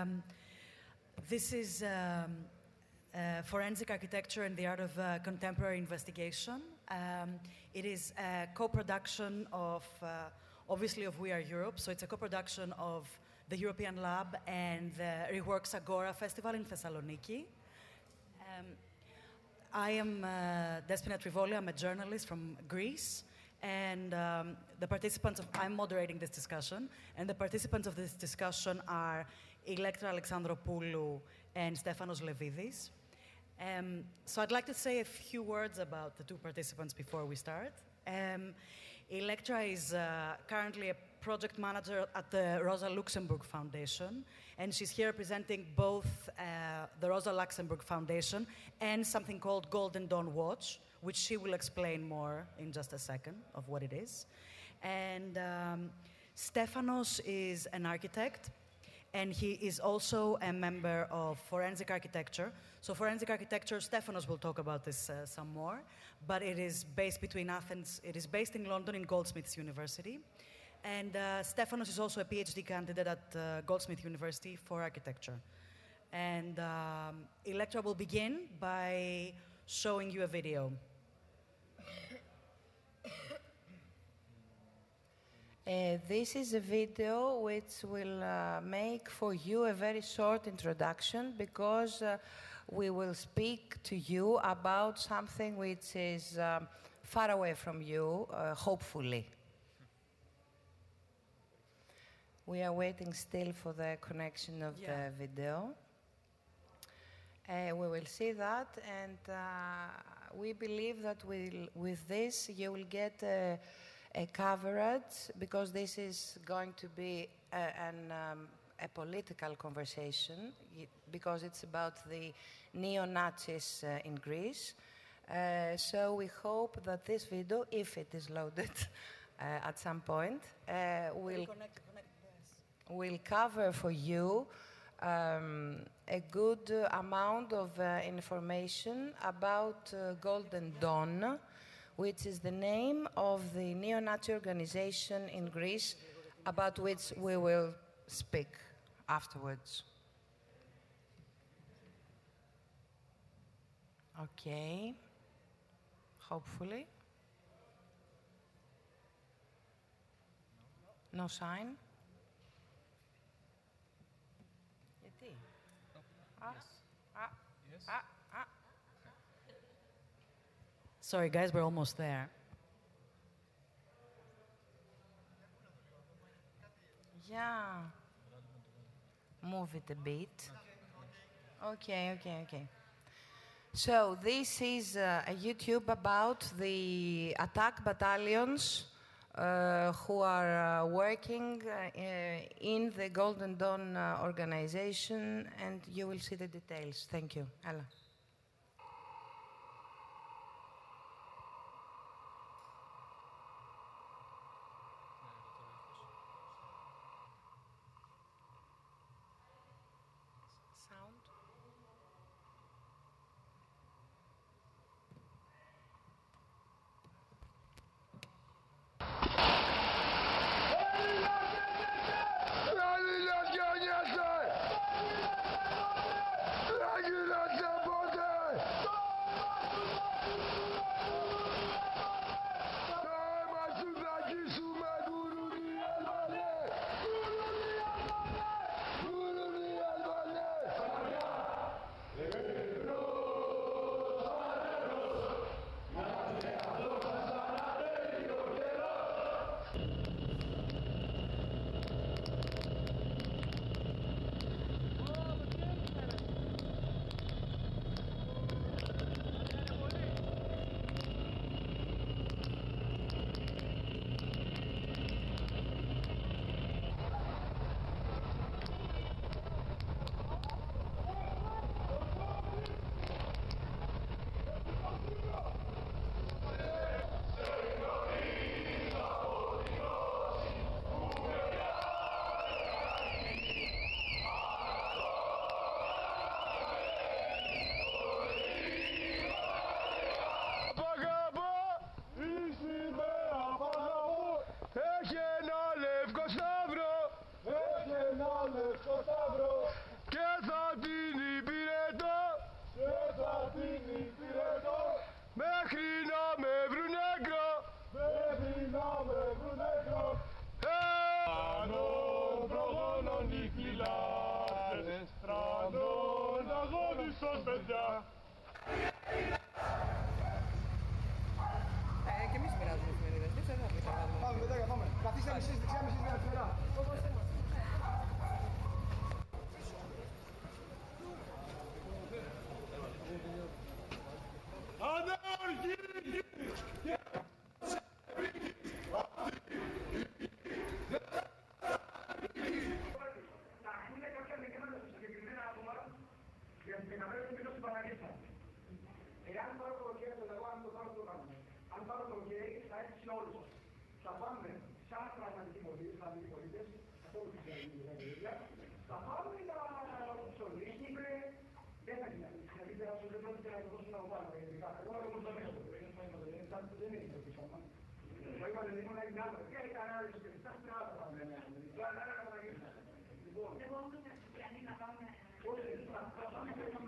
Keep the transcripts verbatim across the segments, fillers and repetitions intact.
Um, this is um, uh, Forensic Architecture and the Art of uh, Contemporary Investigation. Um, it is a co-production of, uh, obviously, of We Are Europe. So it's a co-production of the European Lab and the Reworks Agora Festival in Thessaloniki. Um, I am uh, Despina Trivoli. I'm a journalist from Greece. And um, the participants of, I'm moderating this discussion, and the participants of this discussion are Electra Alexandropoulou and Stefanos Levidis. Um, so I'd like to say a few words about the two participants before we start. Um, Electra is uh, currently a project manager at the Rosa Luxemburg Foundation, and she's here representing both uh, the Rosa Luxemburg Foundation and something called Golden Dawn Watch, which she will explain more in just a second of what it is. And um, Stefanos is an architect, and he is also a member of Forensic Architecture. So Forensic Architecture, Stefanos will talk about this uh, some more, but it is based between Athens, it is based in London in Goldsmiths University. And uh, Stefanos is also a PhD candidate at uh, Goldsmiths University for architecture. And um, Electra will begin by showing you a video. Uh, this is a video which will uh, make for you a very short introduction, because uh, we will speak to you about something which is um, far away from you, uh, hopefully. We are waiting still for the connection of yeah. the video. Uh, we will see that, and uh, we believe that we'll, with this you will get a, a coverage, because this is going to be a, an, um, a political conversation, because it's about the neo-Nazis uh, in Greece. Uh, so we hope that this video, if it is loaded uh, at some point, uh, will, connect, connect will cover for you Um, a good uh, amount of uh, information about uh, Golden Dawn, which is the name of the neo-Nazi organization in Greece, about which we will speak afterwards. Okay, hopefully. No sign? Ah, ah, yes. ah, ah. Sorry, guys, we're almost there. Yeah. Move it a bit. Okay, okay, okay. So this is uh, a YouTube about the attack battalions Uh, who are uh, working uh, in the Golden Dawn uh, organization, and you will see the details. Thank you. Ella. Sound. Dragi nasze, dragi nasze, Στράδες, στράδων, αγώνισος, παιδιά. Ε, και εμείς μοιράζουμε εφημερίδες. Δεν ξέρω να πεις αν βάλουμε. Πάμε, παιδάκια, πάμε. Καθίστε μισής δεξιά, μισής αριστερά. Εάν πάρω το χέρι του εγώ, αν το πάρω το κάνω. Αν πάρω το χέρι, θα έρθει σε όλους. Θα πάμε σαν πραγματικοί πολίτες, πραγματικοί πολίτες, καθόλου χριστιανοί, θα πάμε τα ψωλίστη, δεν θα γίνει. Δηλαδή δεν πρόκειται να το δώσουν να το πάρω. Εγώ όμως το μέσο, δεν είναι το πίσω μας. Το είπατε, δεν ήμουν ένα άλλο. Και ήταν άλλες περιστάσεις, δεν άλλα πάμε. Τώρα άλλα να παραγγείλουν. Λοιπόν, εγώ όμως είμαι χριστιανή να πάμε. Όχι, θα πάμε σε ένα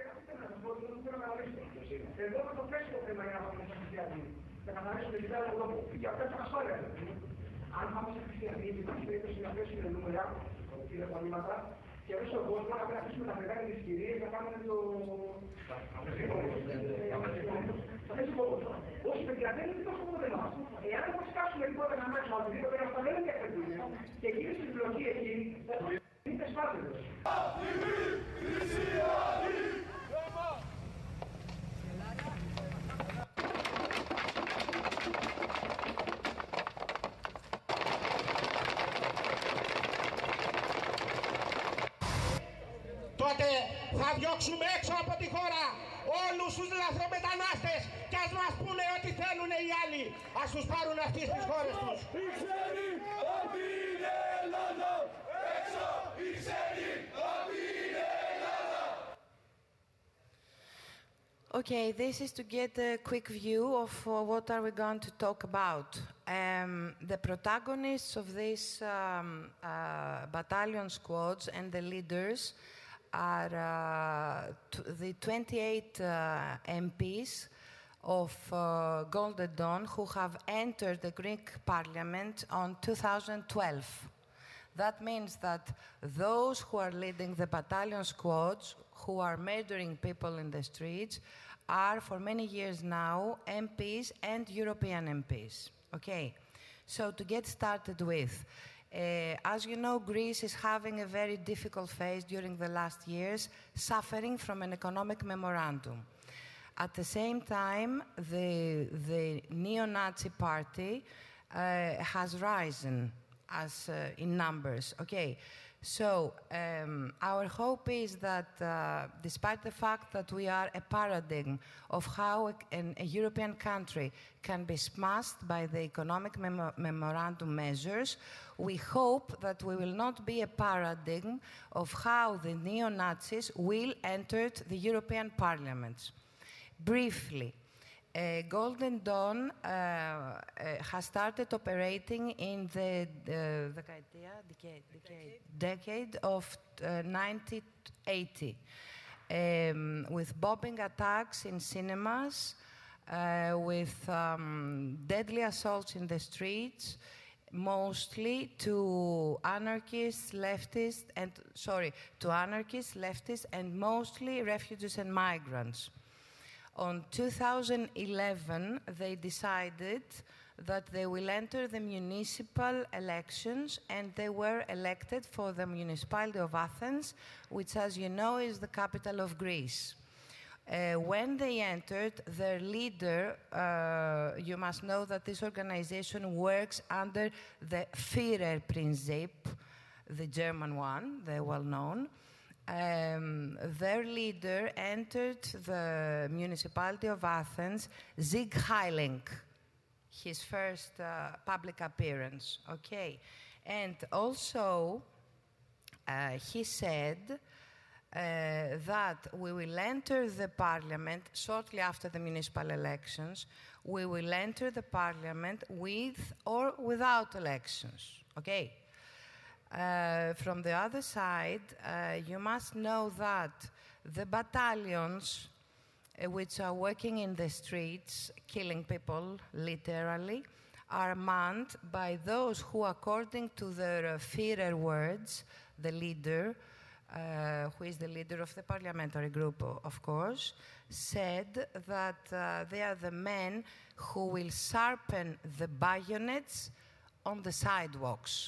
εδώ με το πέσει το θέμα για να πάμε σε χριστιανοί. Θα καθαρίσουμε την πέρα του τόπου. Για αυτά τα ασφάλεια. Αν πάμε σε χριστιανοί, υπάρχει περίπτωση να πέσουν νούμερα, τηλεφωνήματα, και εδώ στον κόσμο να πρέπει να αφήσουμε τα μεγάλα τις κυρίες να κάνουμε το... Θα θέσει κόμμα. Όσοι παιδιά δεν είναι τόσο κόμμα εμάς. Εάν όμως κάσουμε τίποτα να μάθουμε από την πέρα, αυτά δεν είναι διακριτήρια. Και γίνει στην πλοκή εκεί, είναι σπάθελος. Τότε θα διώξουμε έξω από τη χώρα όλους τους λαθρομετανάστες και ας μας πούνε ό,τι θέλουν οι άλλοι. Ας τους πάρουν αυτοί στις χώρες τους. Οι ξένοι από την Ελλάδα! Έξω οι ξένοι από την Ελλάδα! Okay, this is to get a quick view of uh, what are we going to talk about. Um, the protagonists of these um, uh, battalion squads and the leaders are uh, t the twenty-eight uh, M Ps of uh, Golden Dawn who have entered the Greek parliament on two thousand twelve. That means that those who are leading the battalion squads, who are murdering people in the streets, are for many years now M Ps and European M Ps. Okay, so to get started with, Uh, as you know, Greece is having a very difficult phase during the last years, suffering from an economic memorandum. At the same time, the, the neo-Nazi party uh, has risen as uh, in numbers. Okay, so um, our hope is that uh, despite the fact that we are a paradigm of how a, an, a European country can be smashed by the economic memo memorandum measures, we hope that we will not be a paradigm of how the neo-Nazis will enter the European Parliament. Briefly, Uh, Golden Dawn uh, uh, has started operating in the, the, the decade, decade, decade of uh, nineteen eighty, um, with bombing attacks in cinemas, uh, with um, deadly assaults in the streets, mostly to anarchists, leftists, and sorry, to anarchists, leftists, and mostly refugees and migrants. On two thousand eleven, they decided that they will enter the municipal elections, and they were elected for the municipality of Athens, which, as you know, is the capital of Greece. Uh, when they entered, their leader, uh, you must know that this organization works under the Führerprinzip, the German one, the well-known. Um, their leader entered the municipality of Athens, Sieg Heiling, his first uh, public appearance, okay? And also, uh, he said uh, that we will enter the parliament shortly after the municipal elections. We will enter the parliament with or without elections, okay? Uh, from the other side, uh, you must know that the battalions uh, which are working in the streets, killing people, literally, are manned by those who, according to their uh, Führer words, the leader, uh, who is the leader of the parliamentary group, of course, said that uh, they are the men who will sharpen the bayonets on the sidewalks.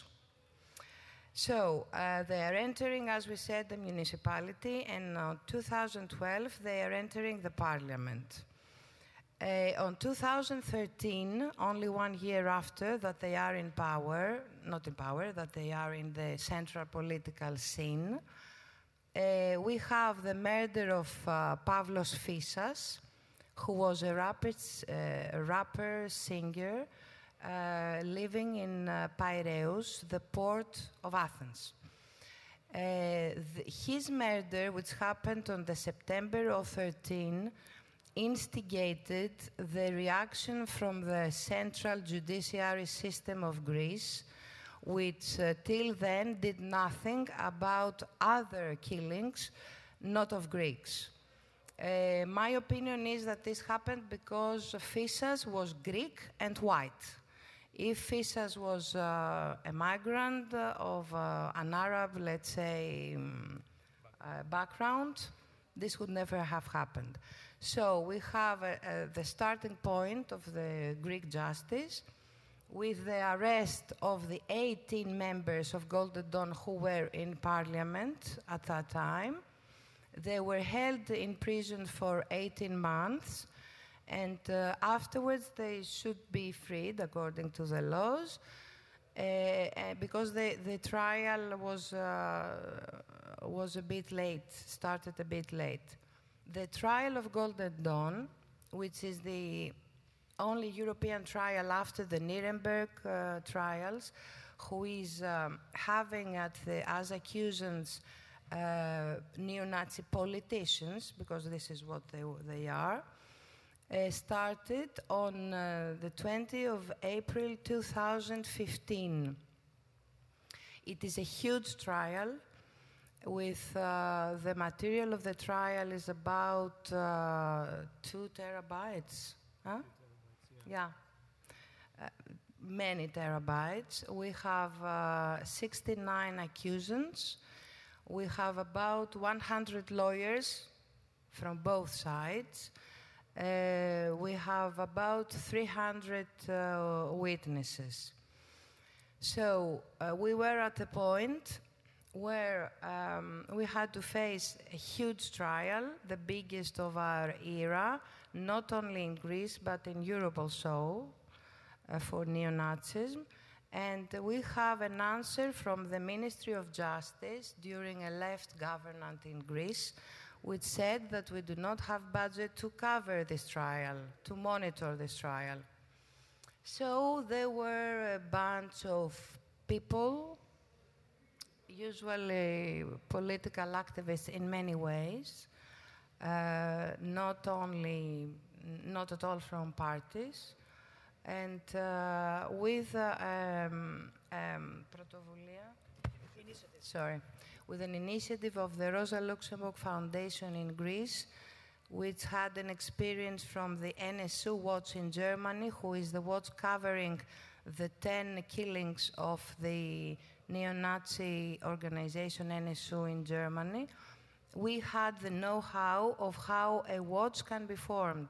So uh, they are entering, as we said, the municipality, and in two thousand twelve they are entering the parliament. Uh, on two thousand thirteen, only one year after that they are in power, not in power, that they are in the central political scene, uh, we have the murder of uh, Pavlos Fissas, who was a rapper, uh, rapper singer, uh, living in uh, Piraeus, the port of Athens. Uh, the, his murder, which happened on the September of thirteen, instigated the reaction from the central judiciary system of Greece, which uh, till then did nothing about other killings, not of Greeks. Uh, my opinion is that this happened because Fissas was Greek and white. If Fissas was uh, a migrant uh, of uh, an Arab, let's say, um, uh, background, this would never have happened. So we have uh, uh, the starting point of the Greek justice with the arrest of the eighteen members of Golden Dawn who were in parliament at that time. They were held in prison for eighteen months, and uh, afterwards they should be freed according to the laws, uh, uh, because the, the trial was, uh, was a bit late, started a bit late. The trial of Golden Dawn, which is the only European trial after the Nuremberg uh, trials, who is um, having at the, as accusants uh, neo-Nazi politicians, because this is what they, they are, uh, started on uh, the twentieth of April two thousand fifteen. It is a huge trial. With uh, the material of the trial is about uh, two terabytes. Huh? Yeah, uh, many terabytes. We have uh, sixty-nine accusants. We have about one hundred lawyers from both sides. Uh, we have about three hundred uh, witnesses. So uh, we were at a point where um, we had to face a huge trial, the biggest of our era, not only in Greece, but in Europe also, uh, for neo-Nazism. And uh, we have an answer from the Ministry of Justice during a left government in Greece, which said that we do not have budget to cover this trial, to monitor this trial. So there were a bunch of people, usually political activists in many ways, uh, not only, not at all from parties, and uh, with uh, um, um, sorry, with an initiative of the Rosa Luxemburg Foundation in Greece, which had an experience from the N S U Watch in Germany, who is the watch covering the ten killings of the neo-Nazi organization N S U in Germany. We had the know-how of how a watch can be formed.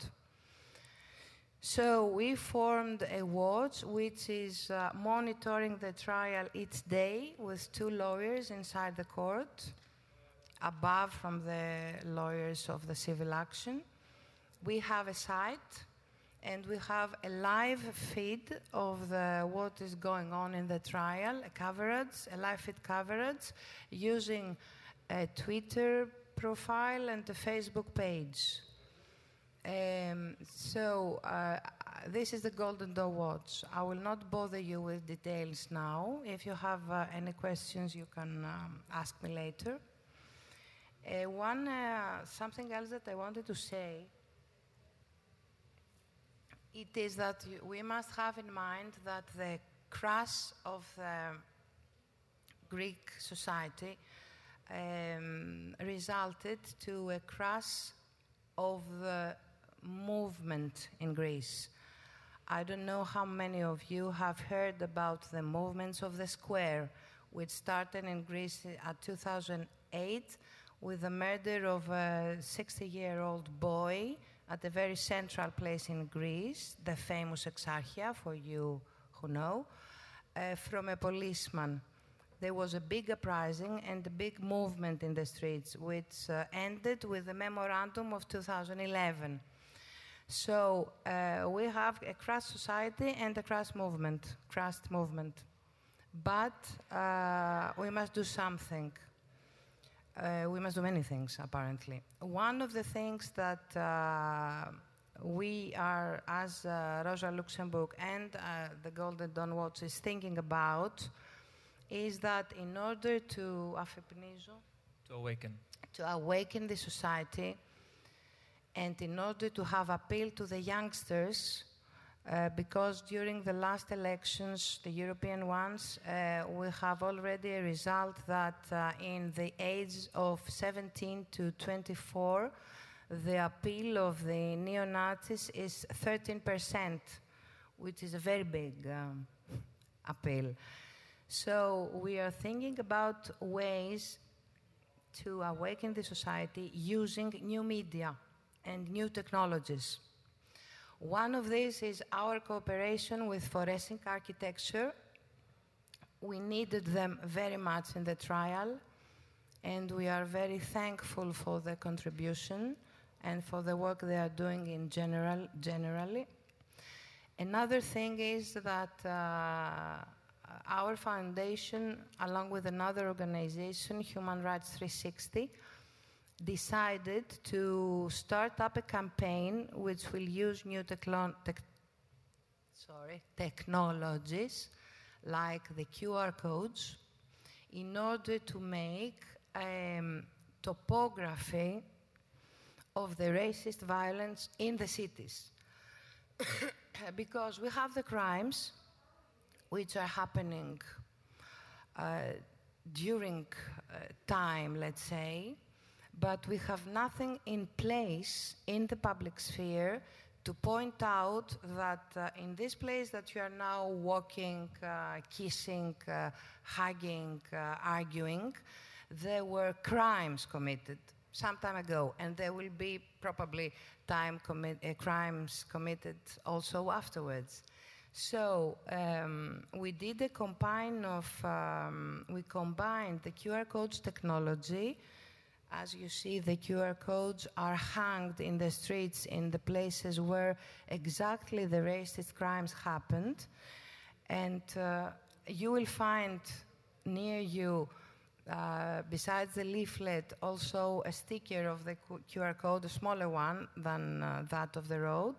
So we formed a watch which is uh, monitoring the trial each day with two lawyers inside the court, above from the lawyers of the civil action. We have a site, and we have a live feed of the, what is going on in the trial, a coverage, a live feed coverage, using a Twitter profile and a Facebook page. Um, so uh, this is the Golden Dawn Watch. I will not bother you with details now. If you have uh, any questions, you can um, ask me later. Uh, one, uh, something else that I wanted to say, it is that we must have in mind that the crash of the Greek society um, resulted to a crash of the movement in Greece. I don't know how many of you have heard about the movements of the square, which started in Greece at two thousand eight with the murder of a sixty-year-old boy at a very central place in Greece, the famous Exarchia, for you who know, uh, from a policeman. There was a big uprising and a big movement in the streets, which uh, ended with the memorandum of two thousand eleven. So uh, we have a crash society and a crash movement, crashed movement. But uh, we must do something. Uh, we must do many things, apparently. One of the things that uh, we are, as uh, Rosa Luxemburg and uh, the Golden Dawn Watch is thinking about, is that in order to to awaken to awaken the society, and in order to have appeal to the youngsters, uh, because during the last elections, the European ones, uh, we have already a result that uh, in the age of seventeen to twenty-four, the appeal of the neo-Nazis is thirteen percent, which is a very big um, appeal. So we are thinking about ways to awaken the society using new media and new technologies. One of these is our cooperation with Forensic Architecture. We needed them very much in the trial, and we are very thankful for their contribution and for the work they are doing in general, generally. Another thing is that uh, our foundation, along with another organization, Human Rights three sixty, decided to start up a campaign which will use new techlo- tech sorry, technologies like the Q R codes in order to make a um, topography of the racist violence in the cities. Because we have the crimes which are happening uh, during uh, time, let's say, but we have nothing in place in the public sphere to point out that uh, in this place that you are now walking, uh, kissing, uh, hugging, uh, arguing, there were crimes committed some time ago, and there will be probably time commi- uh, crimes committed also afterwards. So um, we did a combine of, um, we combined the Q R codes technology. As you see, the Q R codes are hanged in the streets in the places where exactly the racist crimes happened. And uh, you will find near you, uh, besides the leaflet, also a sticker of the Q R code, a smaller one than uh, that of the road.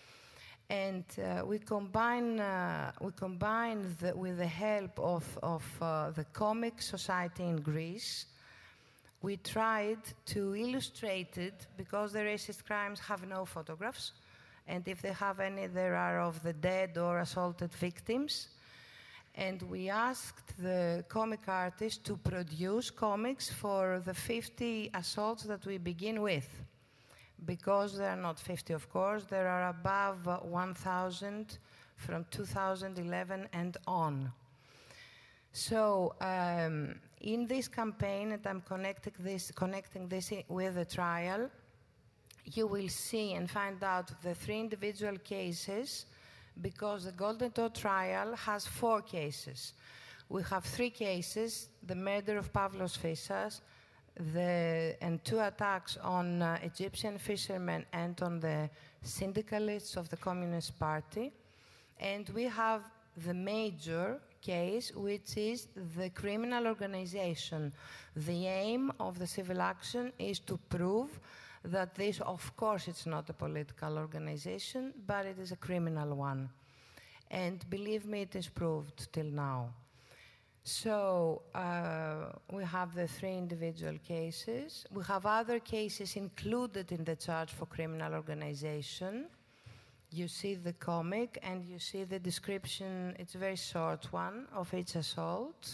And uh, we combine, uh, we combine the, with the help of, of uh, the Comic Society in Greece. We tried to illustrate it because the racist crimes have no photographs. And if they have any, there are of the dead or assaulted victims. And we asked the comic artists to produce comics for the fifty assaults that we begin with. Because there are not fifty, of course, there are above uh, one thousand from two thousand eleven and on. So um, in this campaign, and I'm connecting this, connecting this with the trial, you will see and find out the three individual cases, because the Golden Dawn trial has four cases. We have three cases: the murder of Pavlos Fyssas, The, and two attacks on uh, Egyptian fishermen and on the syndicalists of the Communist Party. And we have the major case, which is the criminal organization. The aim of the civil action is to prove that this, of course, it's not a political organization, but it is a criminal one. And believe me, it is proved till now. So uh, we have the three individual cases. We have other cases included in the charge for criminal organization. You see the comic and you see the description, it's a very short one, of each assault.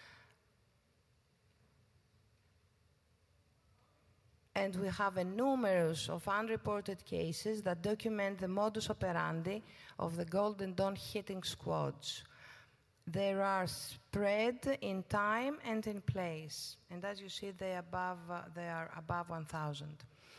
And we have a numerous of unreported cases that document the modus operandi of the Golden Dawn hitting squads. There are spread in time and in place. And as you see, they, above, uh, they are above one thousand.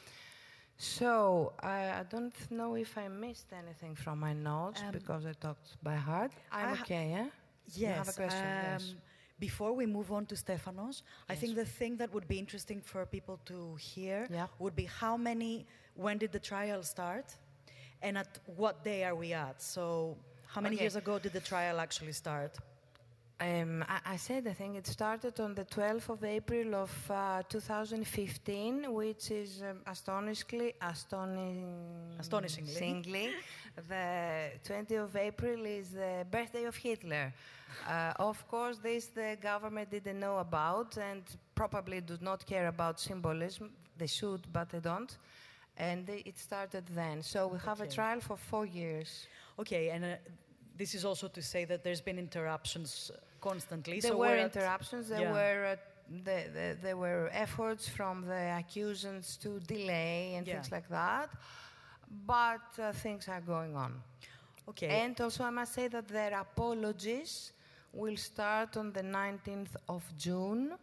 So, I, I don't know if I missed anything from my notes, um, because I talked by heart. I'm I okay, yeah? Yes. You have a question? Um, yes. Before we move on to Stefanos, yes. I think the thing that would be interesting for people to hear yeah. would be how many, when did the trial start? And at what day are we at? So, how many okay. years ago did the trial actually start? Um, I, I said, I think it started on the twelfth of April of uh, two thousand fifteen, which is um, astonishingly, astoni- astonishingly, the twentieth of April is the birthday of Hitler. Uh, of course, this the government didn't know about and probably do not care about symbolism. They should, but they don't. And they, it started then. So we have okay. a trial for four years. Okay, and uh, this is also to say that there's been interruptions constantly. There so were at, interruptions. There yeah. were uh, the, the, there were efforts from the accusants to delay and yeah. things like that. But uh, things are going on. Okay. And also, I must say that their apologies will start on the nineteenth of June.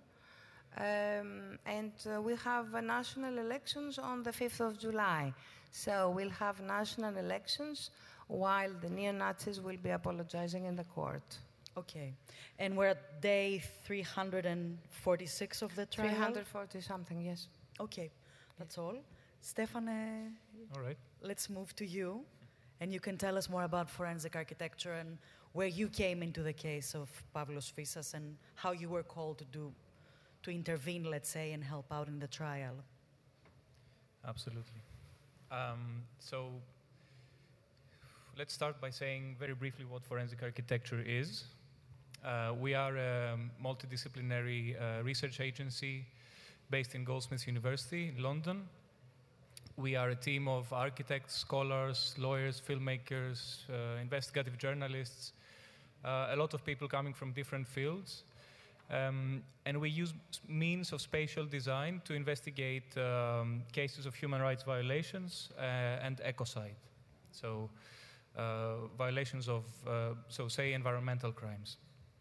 Um, and uh, we have uh, national elections on the fifth of July. So we'll have national elections while the neo-Nazis will be apologizing in the court. Okay. And we're at day three hundred forty-six of the trial? three hundred forty something, yes. Okay. That's all. Stefan, uh, all right. Let's move to you. And you can tell us more about forensic architecture and where you came into the case of Pavlos Fyssas and how you were called to do, to intervene, let's say, and help out in the trial. Absolutely. Um, so let's start by saying very briefly what forensic architecture is. Uh, we are a multidisciplinary uh, research agency based in Goldsmiths University in London. We are a team of architects, scholars, lawyers, filmmakers, uh, investigative journalists, uh, a lot of people coming from different fields. Um, and we use means of spatial design to investigate um, cases of human rights violations uh, and ecocide. So uh, violations of, uh, so say, environmental crimes.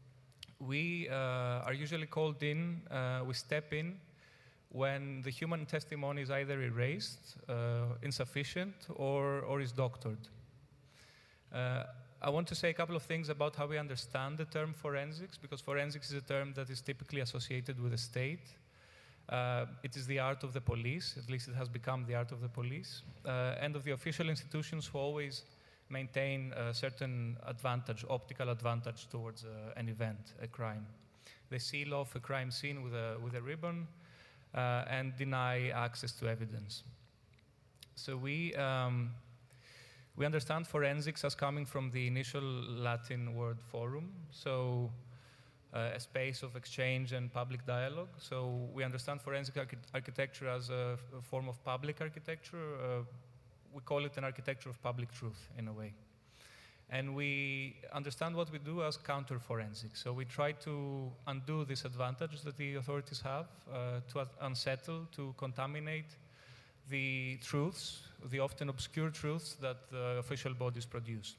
We uh, are usually called in, uh, we step in when the human testimony is either erased, uh, insufficient, or, or is doctored. Uh, I want to say a couple of things about how we understand the term forensics, because forensics is a term that is typically associated with the state. Uh, it is the art of the police, at least it has become the art of the police, uh, and of the official institutions who always maintain a certain advantage, optical advantage towards uh, an event, a crime. They seal off a crime scene with a, with a ribbon uh, and deny access to evidence. So we, um, we understand forensics as coming from the initial Latin word forum, so uh, a space of exchange and public dialogue. So we understand forensic archi architecture as a, a form of public architecture. Uh, we call it an architecture of public truth, in a way. And we understand what we do as counter-forensics. So we try to undo this advantage that the authorities have, uh, to unsettle, to contaminate the truths, the often obscure truths that the official bodies produce.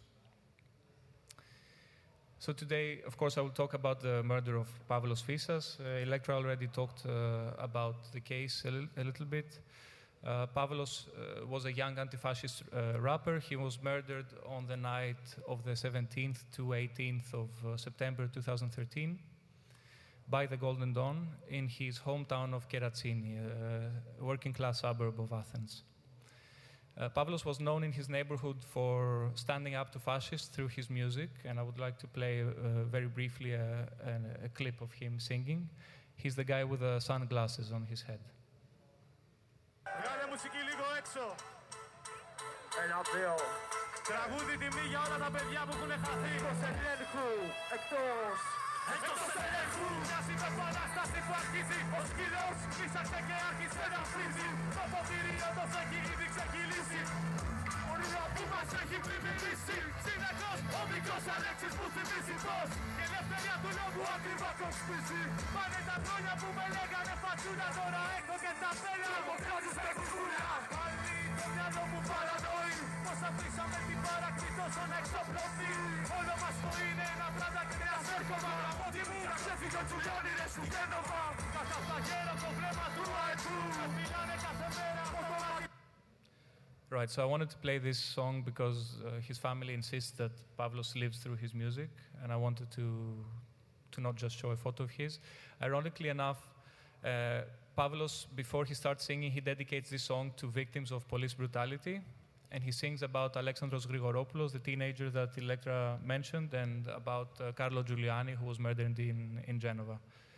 So today, of course, I will talk about the murder of Pavlos Fyssas. Uh, Electra already talked uh, about the case a, li a little bit. Uh, Pavlos uh, was a young anti-fascist uh, rapper. He was murdered on the night of the seventeenth to eighteenth of uh, September two thousand thirteen by the Golden Dawn in his hometown of Keratsini, a working-class suburb of Athens. Uh, Pavlos was known in his neighborhood for standing up to fascists through his music, and I would like to play uh, very briefly a, a, a clip of him singing. He's the guy with the sunglasses on his head. Βγάλε μουσική λίγο έξω. Ένα, δύο. Τραγούδι τιμή για όλα τα παιδιά που έχουν χαθεί. Εκτός ελέγχου, εκτός. Εκτός ελέγχου. Μια επανάσταση που αρχίζει. Ο σκύλος φύσαξε και άρχισε να φύζει. Το ποτήρι όπως έχει ήδη ξεκυλήσει. πορεία που μας έχει πλημμυρίσει. Συνεχώς ο μικρός Αλέξης που θυμίζει πως η ελευθερία του λόγου ακριβά κοξπίσει. Πάνε τα χρόνια που με λέγανε φατσούνα, τώρα έχω και τα πέλα. Ο κράτης με κουκούλα. Πάλι το μυαλό μου παρανοεί πως αφήσαμε την παρακμή τόσο να εξοπλωθεί. Όλο μας το είναι ένα πλάτα και ένα σέρκωμα. Από τη μοίρα ξέφυγε ο Τζουλιώνη ρε στη Γένοβα. Κατά στα γέρα το βλέμμα του αετού. Με μιλάνε κάθε μέρα από το Right, so I wanted to play this song because uh, his family insists that Pavlos lives through his music, and I wanted to to not just show a photo of his. Ironically enough, uh, Pavlos, before he starts singing, he dedicates this song to victims of police brutality, and he sings about Alexandros Grigoropoulos, the teenager that Electra mentioned, and about uh, Carlo Giuliani, who was murdered in, in Genova.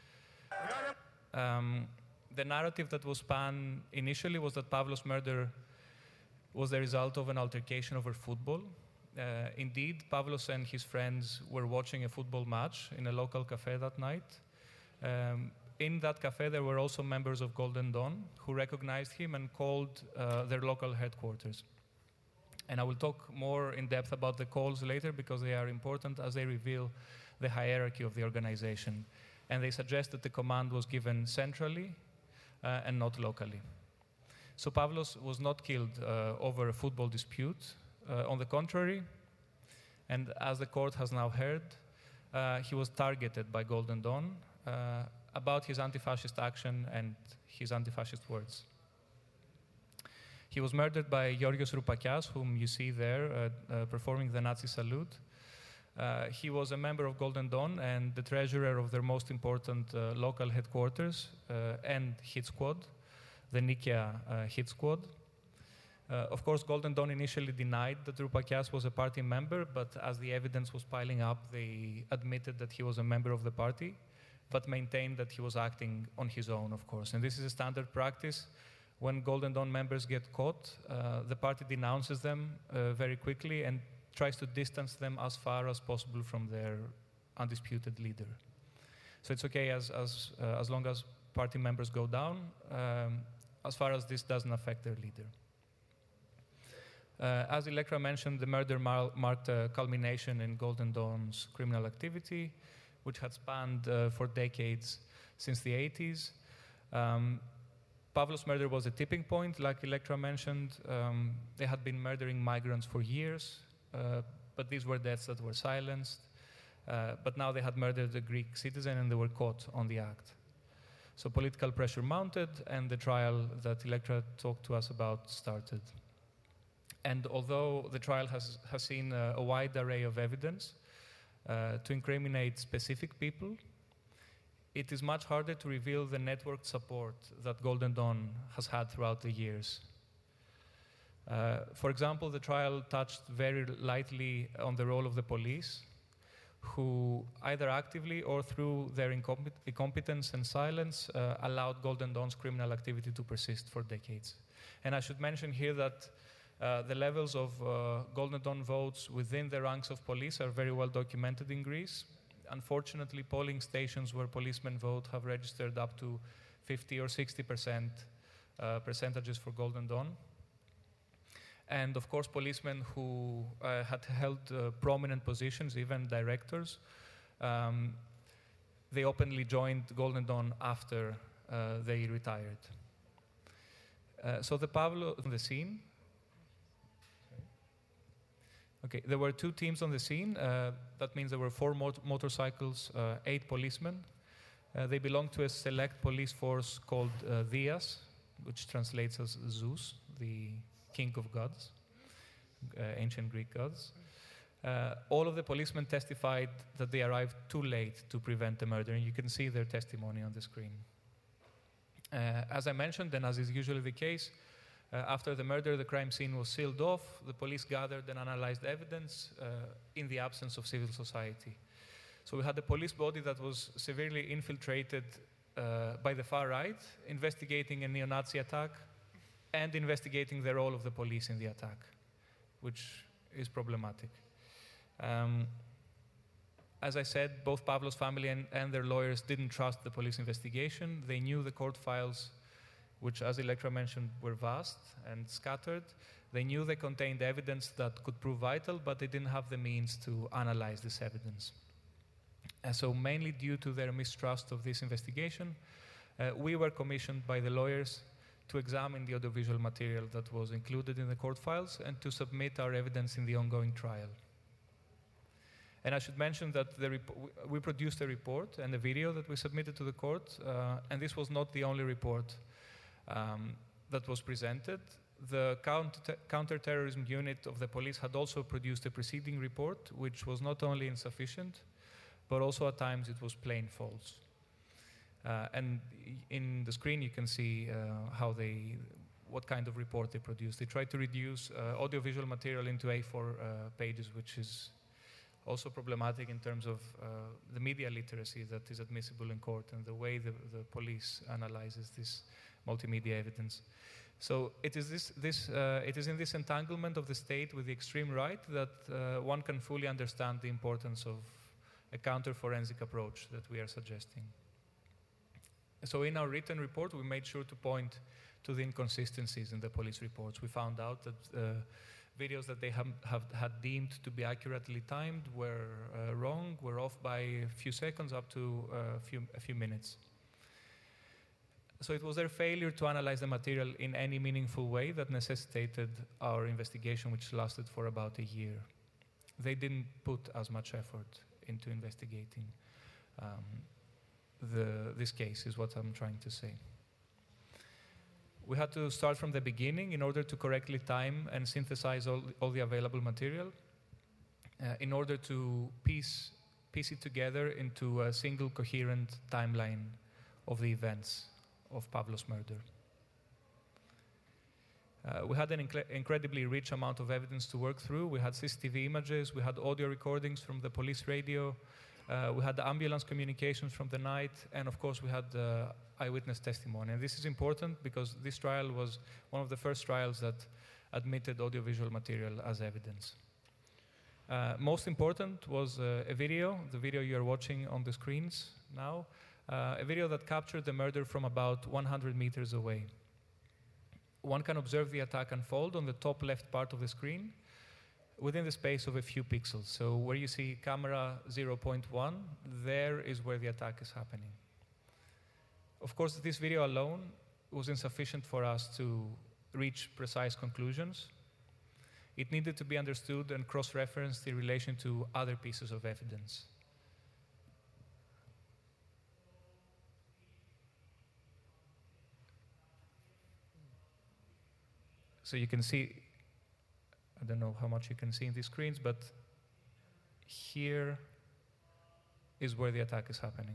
Um, the narrative that was spun initially was that Pavlos' murder was the result of an altercation over football. Uh, indeed, Pavlos and his friends were watching a football match in a local cafe that night. Um, in that cafe, there were also members of Golden Dawn who recognized him and called uh, their local headquarters. And I will talk more in depth about the calls later because they are important as they reveal the hierarchy of the organization. And they suggest that the command was given centrally uh, and not locally. So Pavlos was not killed uh, over a football dispute. Uh, on the contrary, and as the court has now heard, uh, he was targeted by Golden Dawn uh, about his anti-fascist action and his anti-fascist words. He was murdered by Giorgos Roupakias, whom you see there uh, uh, performing the Nazi salute. Uh, he was a member of Golden Dawn and the treasurer of their most important uh, local headquarters uh, and hit squad, the Nikia uh, hit squad. Uh, of course, Golden Dawn initially denied that Roupakias was a party member, but as the evidence was piling up, they admitted that he was a member of the party, but maintained that he was acting on his own, of course. And this is a standard practice. When Golden Dawn members get caught, uh, the party denounces them uh, very quickly and tries to distance them as far as possible from their undisputed leader. So it's okay as, as, uh, as long as party members go down, um, as far as this doesn't affect their leader. Uh, as Electra mentioned, the murder mar- marked a culmination in Golden Dawn's criminal activity, which had spanned uh, for decades since the eighties. Um, Pavlos' murder was a tipping point, like Electra mentioned. Um, they had been murdering migrants for years, uh, but these were deaths that were silenced. Uh, but now they had murdered a Greek citizen and they were caught on the act. So political pressure mounted, and the trial that Electra talked to us about started. And although the trial has, has seen a, a wide array of evidence uh, to incriminate specific people, it is much harder to reveal the networked support that Golden Dawn has had throughout the years. Uh, for example, the trial touched very lightly on the role of the police, who either actively or through their incompet- incompetence and silence uh, allowed Golden Dawn's criminal activity to persist for decades. And I should mention here that uh, the levels of uh, Golden Dawn votes within the ranks of police are very well documented in Greece. Unfortunately, polling stations where policemen vote have registered up to fifty or sixty percent uh, percentages for Golden Dawn. And of course, policemen who uh, had held uh, prominent positions, even directors, um, they openly joined Golden Dawn after uh, they retired. Uh, so the Pavlo on the scene. Okay, there were two teams on the scene. Uh, that means there were four mot- motorcycles, uh, eight policemen. Uh, they belonged to a select police force called uh, Dias, which translates as Zeus, the king of gods, uh, ancient Greek gods. Uh, all of the policemen testified that they arrived too late to prevent the murder, and you can see their testimony on the screen. Uh, as I mentioned, and as is usually the case, uh, after the murder, the crime scene was sealed off, the police gathered and analyzed evidence uh, in the absence of civil society. So we had a police body that was severely infiltrated uh, by the far right, investigating a neo-Nazi attack, and investigating the role of the police in the attack, which is problematic. Um, as I said, both Pavlos' family and, and their lawyers didn't trust the police investigation. They knew the court files, which, as Electra mentioned, were vast and scattered, They knew they contained evidence that could prove vital, but they didn't have the means to analyze this evidence. And so mainly due to their mistrust of this investigation, uh, we were commissioned by the lawyers to examine the audiovisual material that was included in the court files and to submit our evidence in the ongoing trial. And I should mention that the we produced a report and a video that we submitted to the court, uh, and this was not the only report um, that was presented. The counter counterterrorism unit of the police had also produced a preceding report, which was not only insufficient, but also at times it was plain false. Uh, and in the screen you can see uh, how they, what kind of report they produced. They tried to reduce uh, audiovisual material into A four uh, pages, which is also problematic in terms of uh, the media literacy that is admissible in court and the way the, the police analyzes this multimedia evidence. So it is, this, this, uh, it is in this entanglement of the state with the extreme right that uh, one can fully understand the importance of a counter-forensic approach that we are suggesting. So in our written report, we made sure to point to the inconsistencies in the police reports. We found out that uh, videos that they have, have had deemed to be accurately timed were uh, wrong, were off by a few seconds up to uh, a, few, a few minutes. So it was their failure to analyze the material in any meaningful way that necessitated our investigation, which lasted for about a year. They didn't put as much effort into investigating um, the, this case, is what I'm trying to say. We had to start from the beginning in order to correctly time and synthesize all, all the available material, uh, in order to piece, piece it together into a single coherent timeline of the events of Pavlos' murder. Uh, we had an inc incredibly rich amount of evidence to work through. We had C C T V images, we had audio recordings from the police radio, uh, we had the ambulance communications from the night, and of course we had uh, eyewitness testimony. And this is important because this trial was one of the first trials that admitted audiovisual material as evidence. Uh, most important was uh, a video, the video you are watching on the screens now, uh, a video that captured the murder from about one hundred meters away. One can observe the attack unfold on the top left part of the screen within the space of a few pixels. So where you see camera zero point one, there is where the attack is happening. Of course, this video alone was insufficient for us to reach precise conclusions. It needed to be understood and cross-referenced in relation to other pieces of evidence. So you can see, I don't know how much you can see in these screens, but here is where the attack is happening.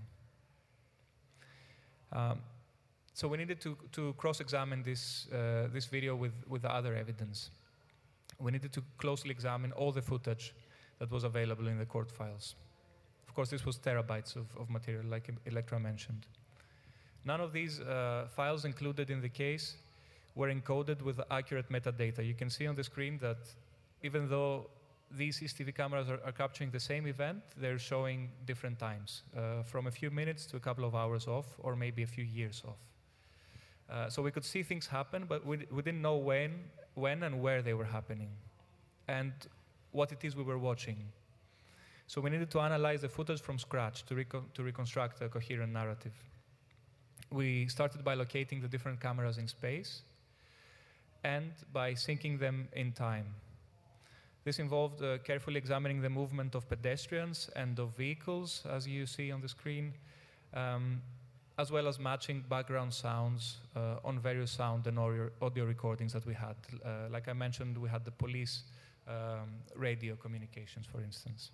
Um, so we needed to, to cross-examine this, uh, this video with, with the other evidence. We needed to closely examine all the footage that was available in the court files. Of course, this was terabytes of, of material, like Electra mentioned. None of these uh, files included in the case were encoded with accurate metadata. You can see on the screen that even though these C C T V cameras are, are capturing the same event, they're showing different times, uh, from a few minutes to a couple of hours off, or maybe a few years off. Uh, so we could see things happen, but we, we didn't know when, when and where they were happening, and what it is we were watching. So we needed to analyze the footage from scratch to, recon to reconstruct a coherent narrative. We started by locating the different cameras in space, and by syncing them in time. This involved uh, carefully examining the movement of pedestrians and of vehicles, as you see on the screen, um, as well as matching background sounds uh, on various sound and audio, audio recordings that we had. Uh, like I mentioned, we had the police um, radio communications, for instance.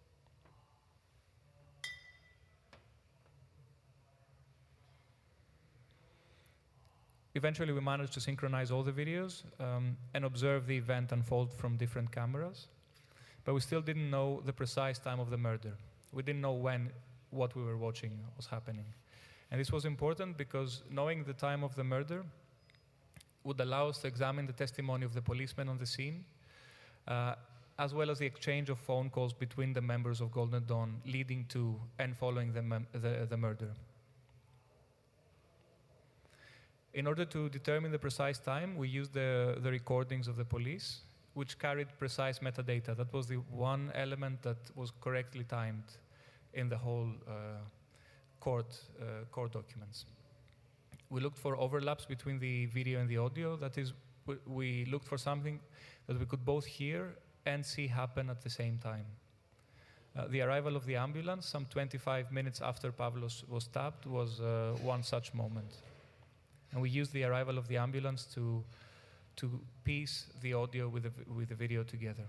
Eventually, we managed to synchronize all the videos um, and observe the event unfold from different cameras, but we still didn't know the precise time of the murder. We didn't know when what we were watching was happening. And this was important because knowing the time of the murder would allow us to examine the testimony of the policemen on the scene, uh, as well as the exchange of phone calls between the members of Golden Dawn leading to and following the, the, the murder. In order to determine the precise time, we used the, the recordings of the police, which carried precise metadata. That was the one element that was correctly timed in the whole uh, court, uh, court documents. We looked for overlaps between the video and the audio. That is, we, we looked for something that we could both hear and see happen at the same time. Uh, the arrival of the ambulance, some twenty-five minutes after Pavlos was stabbed, was uh, one such moment. And we used the arrival of the ambulance to, to piece the audio with the, with the video together.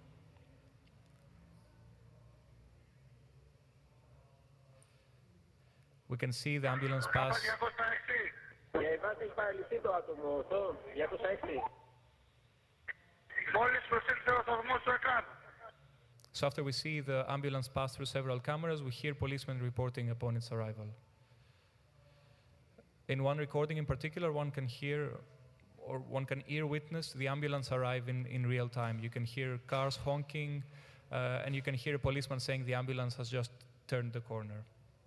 We can see the ambulance pass. So after we see the ambulance pass through several cameras, we hear policemen reporting upon its arrival. In one recording in particular, one can hear, or one can ear witness the ambulance arrive in, in real time. You can hear cars honking, uh, and you can hear a policeman saying the ambulance has just turned the corner.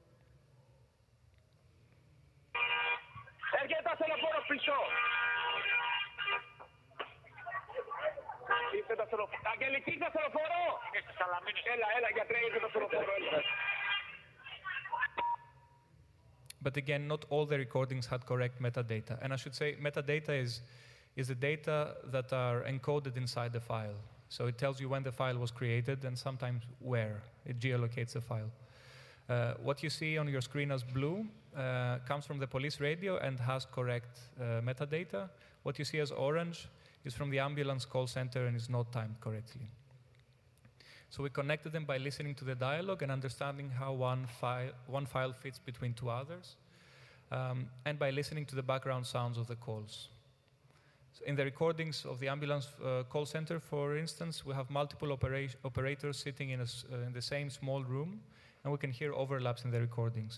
But again, not all the recordings had correct metadata. And I should say metadata is, is the data that are encoded inside the file. So it tells you when the file was created and sometimes where. It geolocates the file. Uh, what you see on your screen as blue uh, comes from the police radio and has correct uh, metadata. What you see as orange is from the ambulance call center and is not timed correctly. So we connected them by listening to the dialogue and understanding how one file, one file fits between two others, um, and by listening to the background sounds of the calls. So in the recordings of the ambulance uh, call center, for instance, we have multiple opera operators sitting in, a, uh, in the same small room, and we can hear overlaps in the recordings.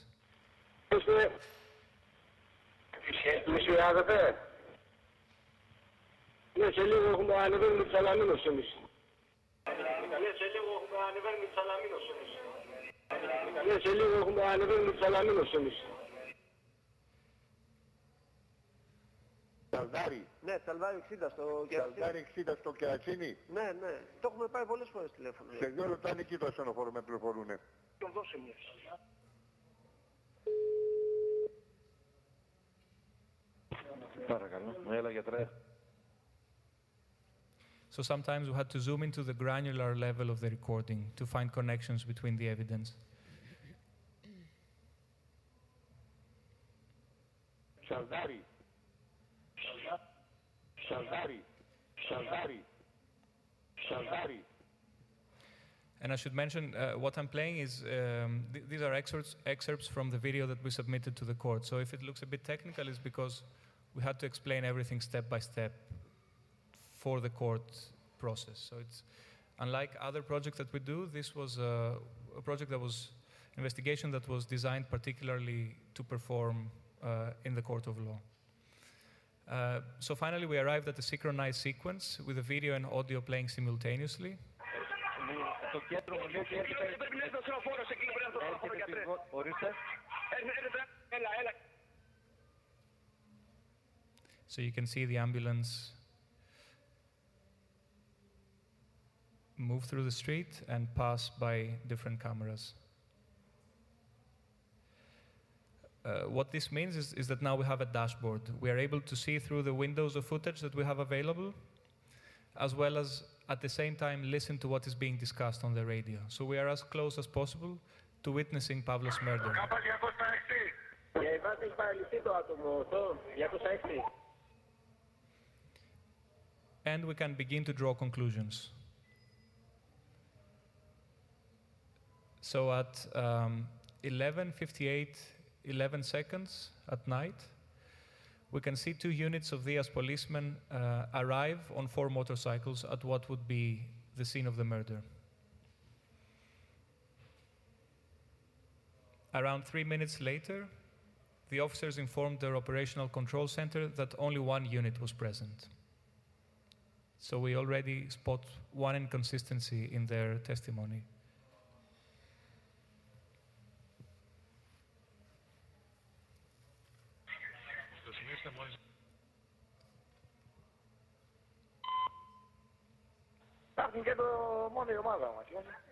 Σαλδάρι. Ναι, Σαλδάρι εξήντα στο Κερατσίνι. Σαλδάρι εξήντα στο Κερατσίνι. Ναι, ναι. Το έχουμε πάρει πολλές φορές τηλέφωνο. Σε δύο λεπτά είναι εκεί το ασθενοφόρο με πληροφορούνε. Τον δώσε μια. Παρακαλώ. Έλα γιατρέ. So sometimes we had to zoom into the granular level of the recording to find connections between the evidence. Σαλδάρι. Σαλδάρι. Σαλδάρι. Σαλδάρι. And I should mention, uh, what I'm playing is, um, th these are excerpts, excerpts from the video that we submitted to the court. So if it looks a bit technical, it's because we had to explain everything step by step for the court process. So it's, unlike other projects that we do, this was a, a project that was, investigation that was designed particularly to perform uh, in the court of law. Uh, so finally, we arrived at a synchronized sequence with the video and audio playing simultaneously. Το κέντρο μου λέει ότι έρχεται... Ορίστε. So you can see the ambulance move through the street and pass by different cameras. Uh, what this means is, is that now we have a dashboard. We are able to see through the windows of footage that we have available, as well as at the same time listen to what is being discussed on the radio. So we are as close as possible to witnessing Pavlos' murder. And we can begin to draw conclusions. So at um, eleven fifty-eight, eleven seconds at night, we can see two units of Dia's policemen uh, arrive on four motorcycles at what would be the scene of the murder. Around three minutes later, the officers informed their operational control center that only one unit was present. So we already spot one inconsistency in their testimony. Στο σημείο της μόλις Υπάρχουν και το μόνο η ομάδα μας.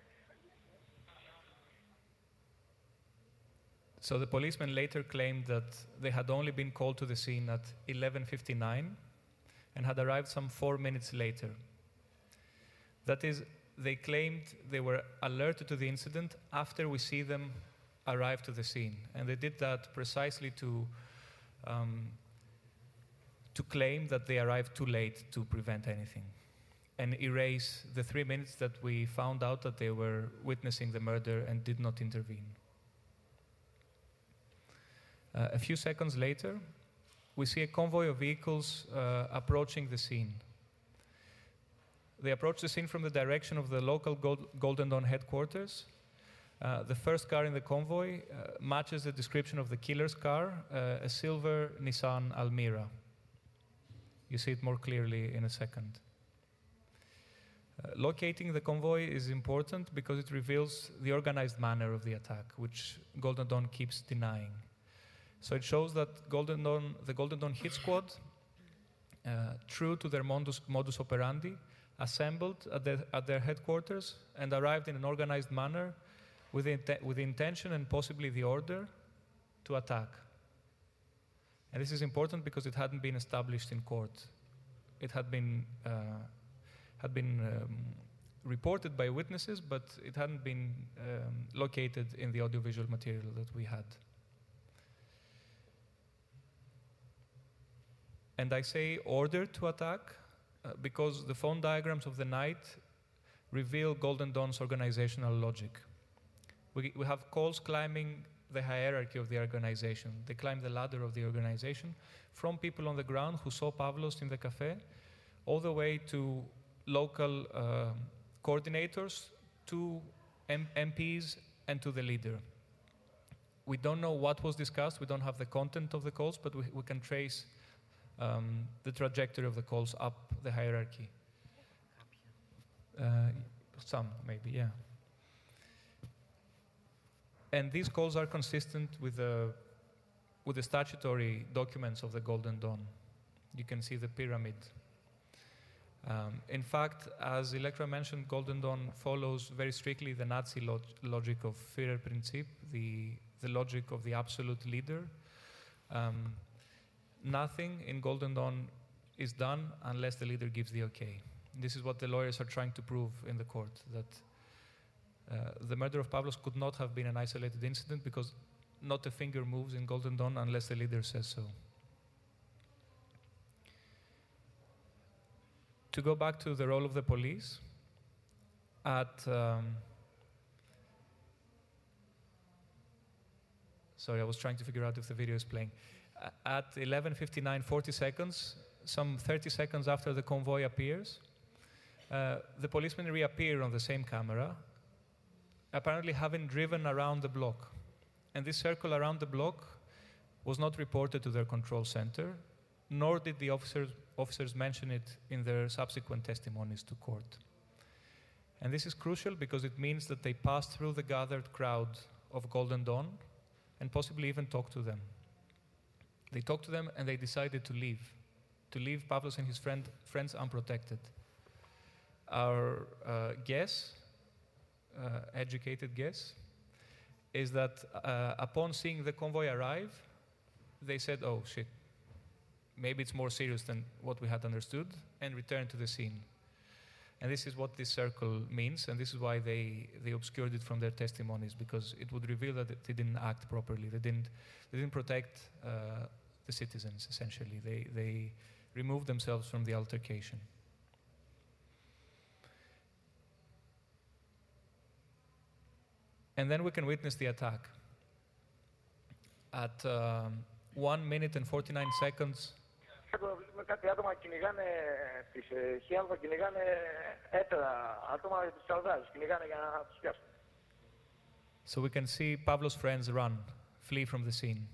So the policemen later claimed that they had only been called to the scene at eleven fifty-nine and had arrived some four minutes later. That is, they claimed they were alerted to the incident after we see them arrive to the scene. And they did that precisely to, um, to claim that they arrived too late to prevent anything and erase the three minutes that we found out that they were witnessing the murder and did not intervene. Uh, a few seconds later, we see a convoy of vehicles uh, approaching the scene. They approach the scene from the direction of the local Gold Golden Dawn headquarters. Uh, the first car in the convoy uh, matches the description of the killer's car, uh, a silver Nissan Almira. You see it more clearly in a second. Uh, locating the convoy is important because it reveals the organized manner of the attack, which Golden Dawn keeps denying. So it shows that Golden Dawn, the Golden Dawn hit squad, uh, true to their modus, modus operandi, assembled at, the, at their headquarters and arrived in an organized manner with the, with the intention and possibly the order to attack. And this is important because it hadn't been established in court. It had been, uh, had been um, reported by witnesses, but it hadn't been um, located in the audiovisual material that we had. And I say order to attack uh, because the phone diagrams of the night reveal Golden Dawn's organizational logic. We, we have calls climbing the hierarchy of the organization. They climb the ladder of the organization from people on the ground who saw Pavlos in the cafe, all the way to local uh, coordinators, to M MPs, and to the leader. We don't know what was discussed. We don't have the content of the calls, but we, we can trace Um, the trajectory of the calls up the hierarchy. Uh, some, maybe, yeah. And these calls are consistent with the, with the statutory documents of the Golden Dawn. You can see the pyramid. Um, in fact, as Elektra mentioned, Golden Dawn follows very strictly the Nazi log logic of Führerprinzip, the, the logic of the absolute leader. Um, Nothing in Golden Dawn is done unless the leader gives the okay. This is what the lawyers are trying to prove in the court, that uh, the murder of Pavlos could not have been an isolated incident because not a finger moves in Golden Dawn unless the leader says so. To go back to the role of the police, at um, sorry, I was trying to figure out if the video is playing. At eleven fifty-nine, forty seconds, some thirty seconds after the convoy appears, uh, the policemen reappear on the same camera, apparently having driven around the block. And this circle around the block was not reported to their control center, nor did the officers, officers mention it in their subsequent testimonies to court. And this is crucial because it means that they passed through the gathered crowd of Golden Dawn and possibly even talked to them. They talked to them and they decided to leave, to leave Pavlos and his friend, friends unprotected. Our uh, guess, uh, educated guess, is that uh, upon seeing the convoy arrive, they said, oh shit, maybe it's more serious than what we had understood, and returned to the scene. And this is what this circle means, and this is why they, they obscured it from their testimonies, because it would reveal that they didn't act properly. They didn't, they didn't protect uh, the citizens, essentially. They, they removed themselves from the altercation. And then we can witness the attack. At um, one minute and forty-nine seconds, Κάτι άτομα κυνηγάνε τις Χιάλβα, κυνηγάνε έτερα άτομα τους Σαλδάρους, κυνηγάνε για να τους πιάσουν. So we can see Pavlos' friends run, flee from the scene.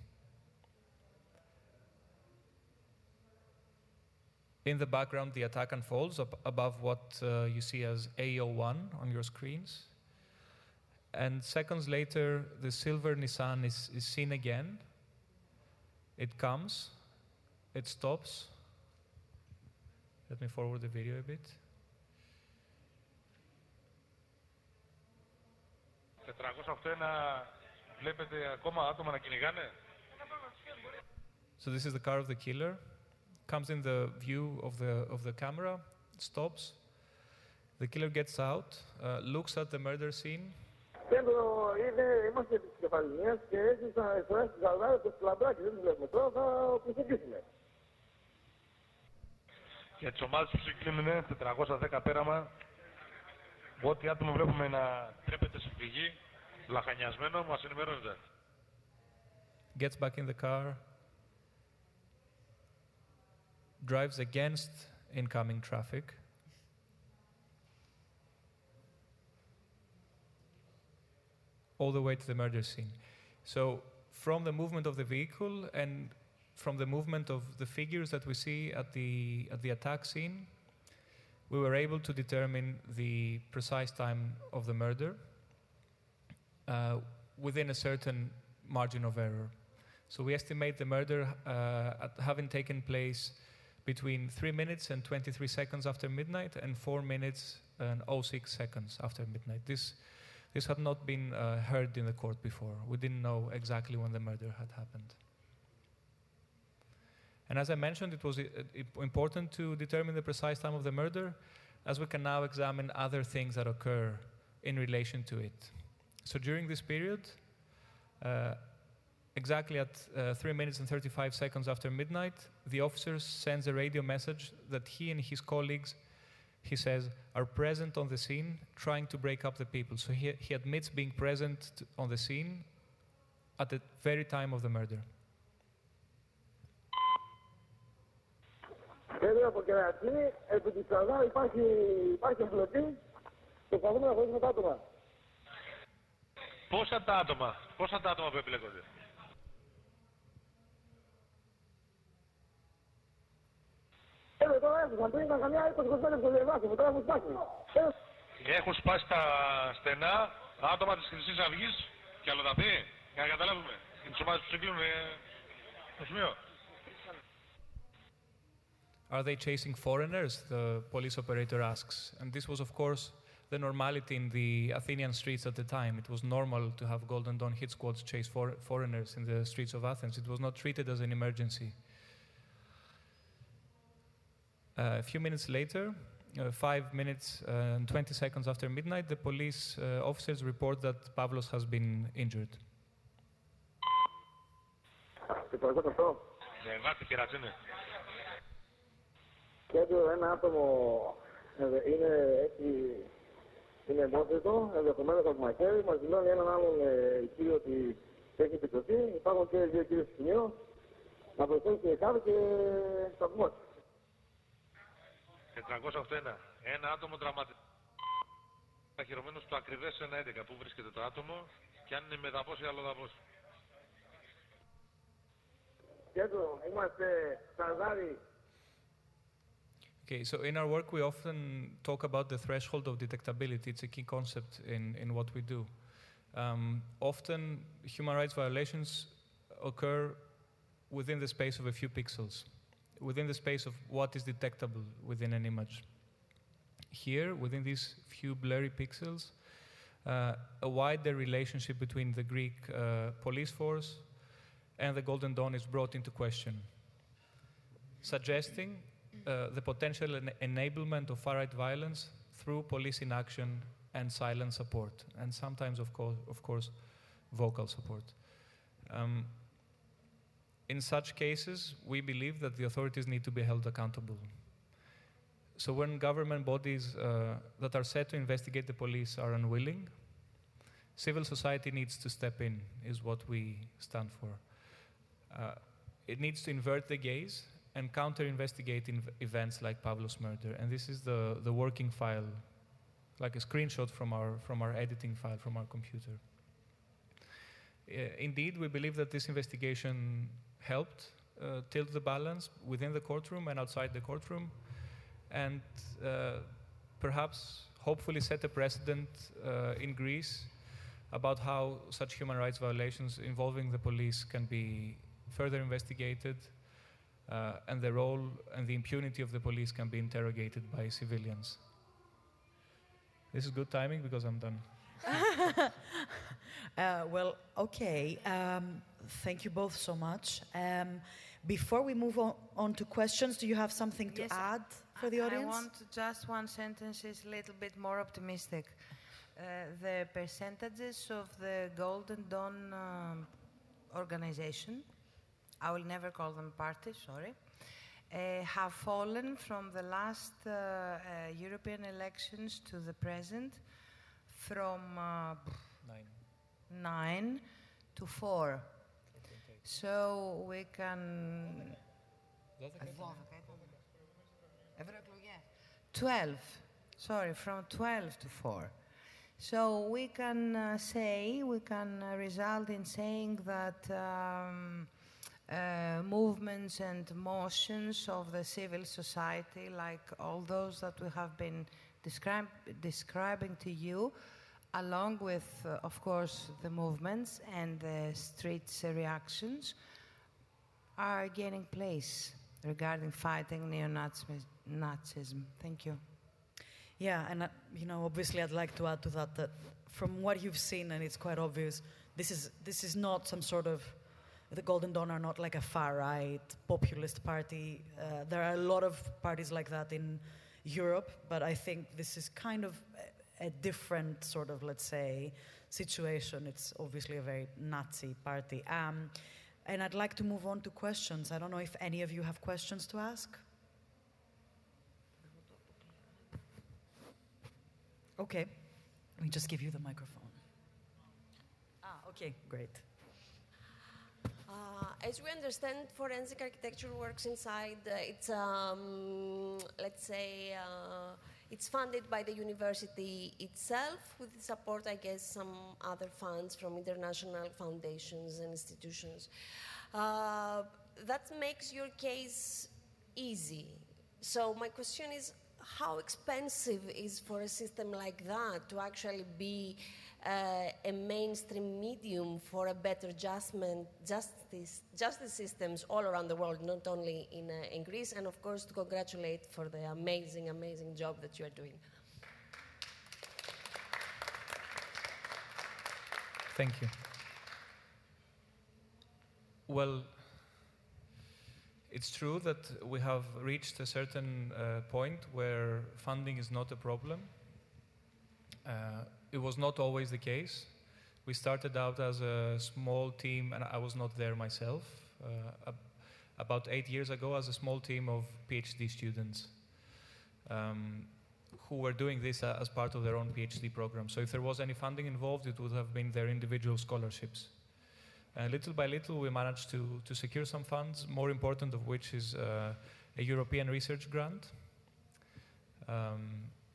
In the background, the attack unfolds up above what uh, you see as A O one on your screens. And seconds later, the silver Nissan is, is seen again. It comes, it stops. Let me forward the video a bit. τετρακόσια ογδόντα ένα βλέπετε ακόμα άτομα να κυνηγάνε. So this is the car of the killer. Comes in the view of the of the camera, stops. The killer gets out, uh, looks at the murder scene. Κέντρο είναι, είμαστε της Κεφαλονίας και έτσι θα εσωράσει τις Ζαλδάρες και τις Λαμπράκες, δεν τις βλέπουμε τώρα, θα προσεγγίσουμε. Για τις ομάδες που συγκλίνουν τετρακόσια δέκα πέραμα. Ό,τι άτομο βλέπουμε να τρέπεται σε φυγή, λαχανιασμένο, μας ενημερώνεται. Gets back in the car. Drives against incoming traffic. All the way to the murder scene. So from the movement of the vehicle and from the movement of the figures that we see at the, at the attack scene, we were able to determine the precise time of the murder uh, within a certain margin of error. So we estimate the murder uh, at having taken place between three minutes and twenty-three seconds after midnight and four minutes and oh six seconds after midnight. This, this had not been uh, heard in the court before. We didn't know exactly when the murder had happened. And as I mentioned, it was uh, important to determine the precise time of the murder, as we can now examine other things that occur in relation to it. So during this period, uh, exactly at uh, three minutes and thirty-five seconds after midnight, the officer sends a radio message that he and his colleagues, he says, are present on the scene, trying to break up the people. So he, he admits being present to, on the scene at the very time of the murder. Κέντρο από Κερατσίνη, επί της Σαλδά υπάρχει, υπάρχει εμπλοκή και προσπαθούμε να χωρίσουμε τα άτομα. Πόσα τα άτομα, πόσα τα άτομα που επιλέγονται. Κέντρο τώρα έφυγαν, πριν ήταν καμιά είκοσι είκοσι πέντε στο διαβάσιμο, τώρα έχουν σπάσει. Έχουν σπάσει τα στενά άτομα της Χρυσής Αυγής και αλλοδαπή, για να καταλάβουμε. Και τις ομάδες που συγκλίνουν στο σημείο. Are they chasing foreigners? The police operator asks. And this was, of course, the normality in the Athenian streets at the time. It was normal to have Golden Dawn hit squads chase for foreigners in the streets of Athens. It was not treated as an emergency. Uh, a few minutes later, uh, five minutes uh, and twenty seconds after midnight, the police uh, officers report that Pavlos has been injured. Κέντρο ένα άτομο είναι έτσι, είναι εμπόθετο, ενδεχομένως από μαχαίρι, μας δηλώνει έναν άλλον κύριο ότι έχει επιτροπή, υπάρχουν και δύο κύριοι στο σημείο, να προσθέσει και κάτω και σταθμός. τετρακόσια ογδόντα ένα. Ένα άτομο τραυματισμένο. Αχυρωμένο στο ακριβές ένα έντεκα. Πού βρίσκεται το άτομο και αν είναι μεταπός ή αλλοδαπός. Κέντρο, είμαστε Σαρδάρι. Okay, so in our work we often talk about the threshold of detectability. It's a key concept in, in what we do. Um, often human rights violations occur within the space of a few pixels, within the space of what is detectable within an image. Here, within these few blurry pixels, uh, a wider relationship between the Greek uh, police force and the Golden Dawn is brought into question, suggesting Uh, the potential en enablement of far-right violence through police inaction and silent support, and sometimes, of course, of course, vocal support. Um, in such cases, we believe that the authorities need to be held accountable. So when government bodies uh, that are set to investigate the police are unwilling, civil society needs to step in, is what we stand for. Uh, it needs to invert the gaze and counter-investigate events like Pavlos' murder. And this is the, the working file, like a screenshot from our, from our editing file, from our computer. Uh, indeed, we believe that this investigation helped uh, tilt the balance within the courtroom and outside the courtroom, and uh, perhaps, hopefully, set a precedent uh, in Greece about how such human rights violations involving the police can be further investigated, Uh, and the role and the impunity of the police can be interrogated by civilians. This is good timing because I'm done. Uh, well, okay. Um, thank you both so much. Um, before we move on, on to questions, do you have something to Yes, add for the I- audience? I want just one sentence is a little bit more optimistic. Uh, the percentages of the Golden Dawn um, organization, I will never call them party, sorry, uh, have fallen from the last uh, uh, European elections to the present from uh, Nine. nine to four. So we can... twelve, sorry, from twelve to four. So we can uh, say, we can uh, result in saying that um, uh, movements and motions of the civil society, like all those that we have been describe, describing to you, along with, uh, of course, the movements and the streets uh, reactions, are gaining place regarding fighting neo-Nazism. Thank you. Yeah, and uh, you know, obviously, I'd like to add to that that from what you've seen, and it's quite obvious, this is this is not some sort of the Golden Dawn are not like a far-right populist party. Uh, there are a lot of parties like that in Europe, but I think this is kind of a, a different sort of, let's say, situation. It's obviously a very Nazi party. Um, and I'd like to move on to questions. I don't know if any of you have questions to ask. Okay, let me just give you the microphone. Ah, okay, great. Uh, as we understand, forensic architecture works inside, uh, it's, um, let's say, uh, it's funded by the university itself with the support, I guess, some other funds from international foundations and institutions. Uh, that makes your case easy. So my question is, how expensive is for a system like that to actually be uh, a mainstream medium for a better adjustment, justice, justice systems all around the world, not only in, uh, in Greece, and of course to congratulate for the amazing, amazing job that you are doing. Thank you. Well, it's true that we have reached a certain uh, point where funding is not a problem. Uh, it was not always the case. We started out as a small team, and I was not there myself, uh, ab about eight years ago as a small team of PhD students um, who were doing this uh, as part of their own PhD program. So if there was any funding involved, it would have been their individual scholarships. Uh, little by little, we managed to, to secure some funds, more important of which is uh, a European research grant. Um,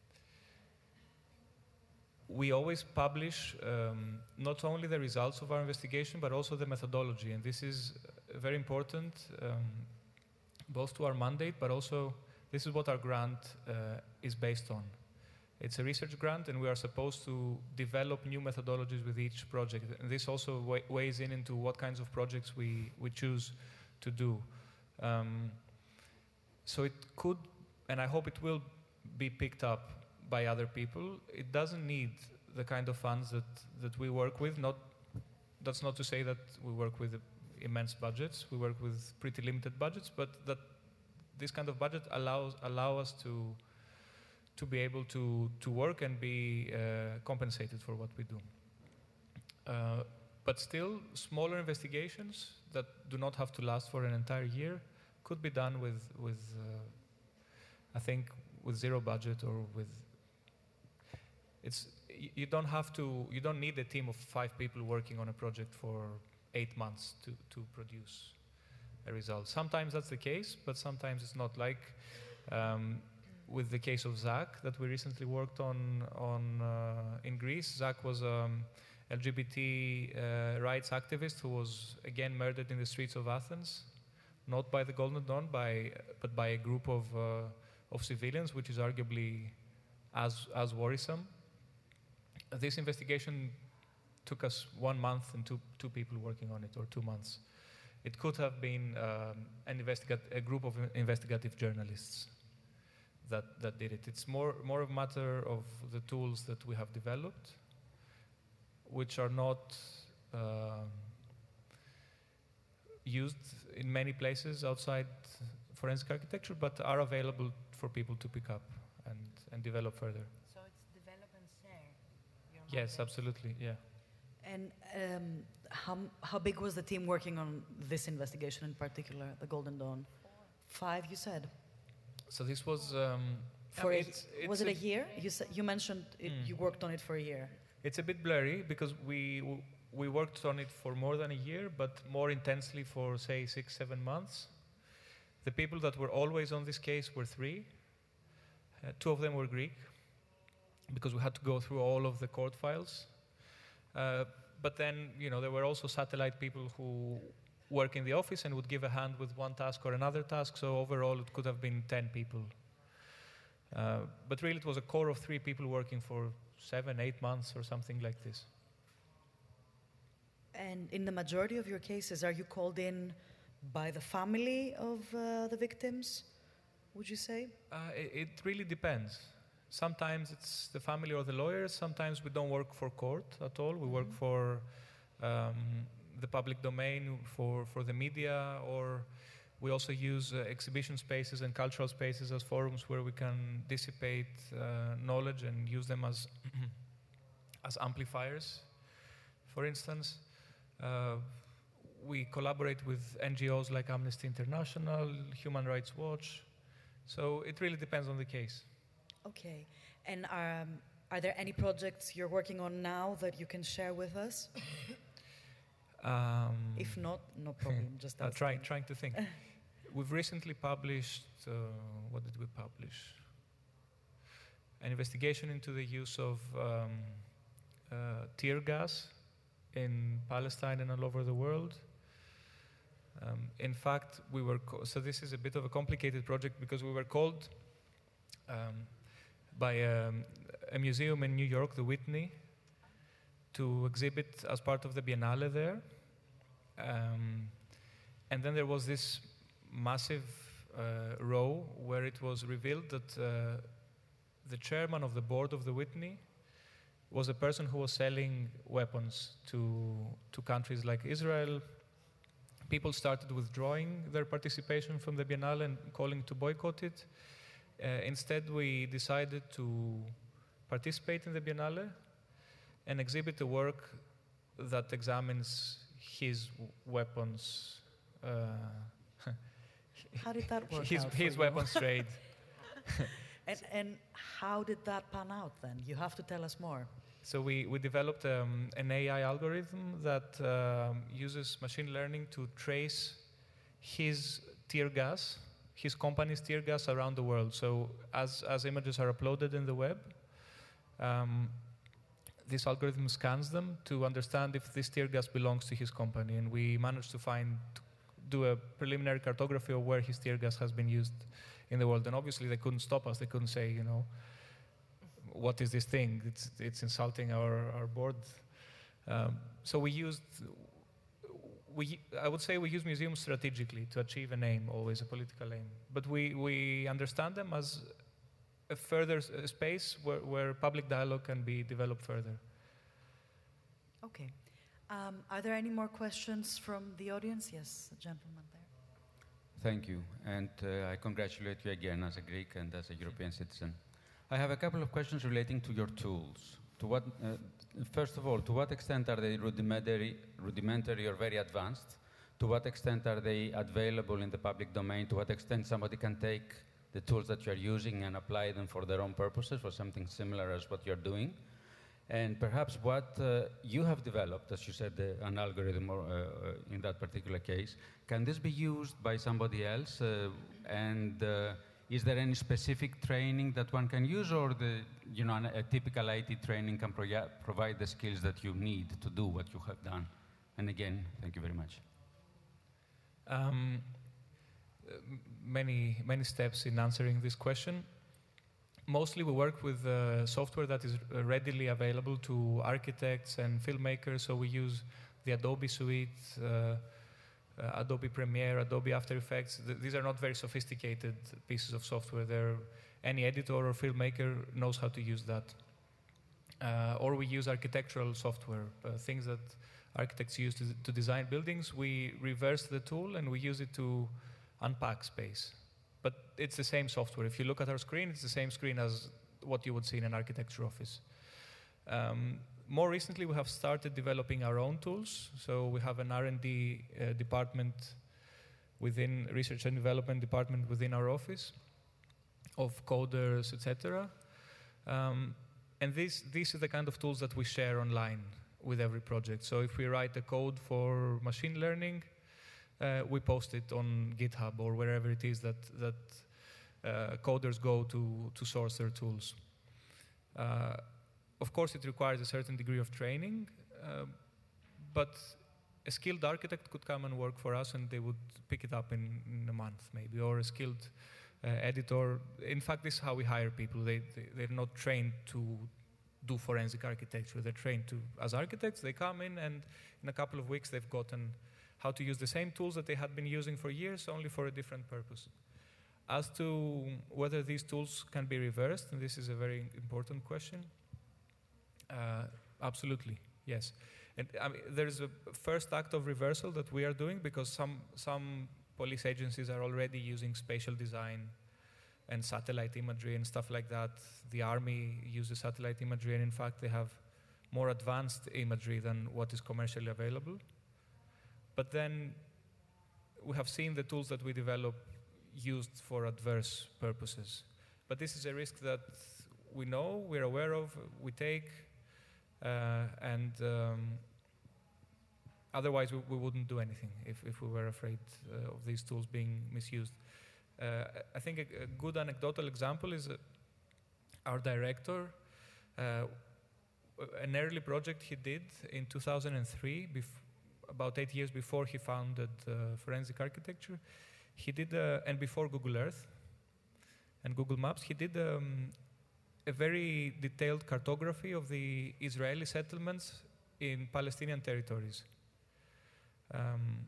we always publish um, not only the results of our investigation, but also the methodology. And this is very important, um, both to our mandate, but also this is what our grant uh, is based on. It's a research grant, and we are supposed to develop new methodologies with each project. And this also wa weighs in into what kinds of projects we, we choose to do. Um, so it could, and I hope it will be picked up by other people. It doesn't need the kind of funds that, that we work with. Not, that's not to say that we work with immense budgets. We work with pretty limited budgets, but that this kind of budget allows allow us to to be able to, to work and be uh, compensated for what we do. Uh, but still, smaller investigations that do not have to last for an entire year could be done with, with uh, I think, with zero budget or with... It's, you don't have to, you don't need a team of five people working on a project for eight months to, to produce a result. Sometimes that's the case, but sometimes it's not. Like, um, with the case of Zach that we recently worked on, on uh, in Greece. Zach was an um, L G B T uh, rights activist who was again murdered in the streets of Athens, not by the Golden Dawn, by, but by a group of, uh, of civilians, which is arguably as, as worrisome. This investigation took us one month and two, two people working on it, or two months. It could have been um, an investigat a group of investigative journalists that, that did it. It's more, more a matter of the tools that we have developed. which are not uh, used in many places outside forensic architecture, but are available for people to pick up and, and develop further. So it's develop and share. Yes, absolutely, yeah. And um, how, how big was the team working on this investigation in particular, the Golden Dawn? Five, you said? So this was... Um, for I a, mean, it's, it's was it a, a year? You, sa you mentioned it, mm. you worked on it for a year. It's a bit blurry because we, w we worked on it for more than a year, but more intensely for, say, six, seven months. The people that were always on this case were three. Uh, two of them were Greek, because we had to go through all of the court files. Uh, but then, you know, there were also satellite people who work in the office and would give a hand with one task or another task, so overall it could have been ten people. Uh, but really it was a core of three people working for seven, eight months or something like this. And in the majority of your cases, are you called in by the family of uh, the victims, would you say? Uh, it, it really depends. Sometimes it's the family or the lawyers. Sometimes we don't work for court at all. We work for um, the public domain, for, for the media, or we also use uh, exhibition spaces and cultural spaces as forums where we can dissipate uh, knowledge and use them as, as amplifiers, for instance. Uh, we collaborate with N G Os like Amnesty International, Human Rights Watch. So it really depends on the case. Okay. And um, are there any projects you're working on now that you can share with us? Um, if not, no problem. Just uh, asking. try, trying to think. We've recently published, uh, what did we publish? An investigation into the use of um, uh, tear gas in Palestine and all over the world. Um, in fact, we were, co so this is a bit of a complicated project because we were called um, by um, a museum in New York, the Whitney, to exhibit as part of the Biennale there. Um, and then there was this massive uh, row where it was revealed that uh, the chairman of the board of the Whitney was a person who was selling weapons to, to countries like Israel. People started withdrawing their participation from the Biennale and calling to boycott it. Uh, instead, we decided to participate in the Biennale and exhibit a work that examines his weapons. Uh, how did that work his, out His for weapons you? trade. and, and how did that pan out then? You have to tell us more. So we, we developed um, an A I algorithm that um, uses machine learning to trace his tear gas, his company's tear gas around the world. So as, as images are uploaded in the web, um, this algorithm scans them to understand if this tear gas belongs to his company. And we managed to find, to do a preliminary cartography of where his tear gas has been used in the world. And obviously they couldn't stop us. They couldn't say, you know, what is this thing? It's, it's insulting our, our board. Um, so we used, we, I would say we use museums strategically to achieve an aim, always a political aim. But we, we understand them as a further s a space where, where public dialogue can be developed further. Okay. Um, are there any more questions from the audience? Yes, the gentleman there. Thank you. And uh, I congratulate you again as a Greek and as a European citizen. I have a couple of questions relating to your tools. To what, uh, first of all, to what extent are they rudimentary, rudimentary or very advanced? To what extent are they available in the public domain? To what extent somebody can take the tools that you're using and apply them for their own purposes, for something similar as what you're doing? And perhaps what uh, you have developed, as you said, uh, an algorithm or, uh, in that particular case, can this be used by somebody else? Uh, and uh, is there any specific training that one can use, or the, you know, a typical I T training can pro provide the skills that you need to do what you have done? And again, thank you very much. Um, many, many steps in answering this question. Mostly we work with uh, software that is readily available to architects and filmmakers, so we use the Adobe suite, uh, uh, Adobe Premiere, Adobe After Effects. Th these are not very sophisticated pieces of software. They're, any editor or filmmaker knows how to use that. Uh, or we use architectural software, uh, things that architects use to, to design buildings. We reverse the tool and we use it to unpack space. But it's the same software. If you look at our screen, it's the same screen as what you would see in an architecture office. Um, more recently, we have started developing our own tools. So we have an R and D uh, department within research and development department within our office of coders, et cetera. Um, and this, this is the kind of tools that we share online with every project. So if we write a code for machine learning, uh, we post it on GitHub or wherever it is that, that uh, coders go to, to source their tools. Uh, of course, it requires a certain degree of training, uh, but a skilled architect could come and work for us and they would pick it up in, in a month maybe, or a skilled uh, editor. In fact, this is how we hire people. They, they, they're not trained to do forensic architecture. They're trained to, as architects, they come in and in a couple of weeks they've gotten how to use the same tools that they had been using for years, only for a different purpose. As to whether these tools can be reversed, and this is a very important question, uh, absolutely, yes. And I mean, there's a first act of reversal that we are doing because some, some police agencies are already using spatial design and satellite imagery and stuff like that. The army uses satellite imagery, and in fact, they have more advanced imagery than what is commercially available. But then we have seen the tools that we develop used for adverse purposes. But this is a risk that we know, we're aware of, we take, uh, and um, otherwise we, we wouldn't do anything if, if we were afraid uh, of these tools being misused. Uh, I think a, a good anecdotal example is uh, our director, uh, an early project he did in two thousand three, about eight years before he founded uh, Forensic Architecture. He did, uh, and before Google Earth and Google Maps, he did um, a very detailed cartography of the Israeli settlements in Palestinian territories. Um,